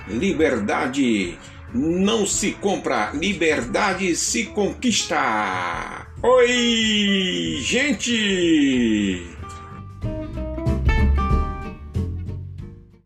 Liberdade não se compra, liberdade se conquista. Oi, gente!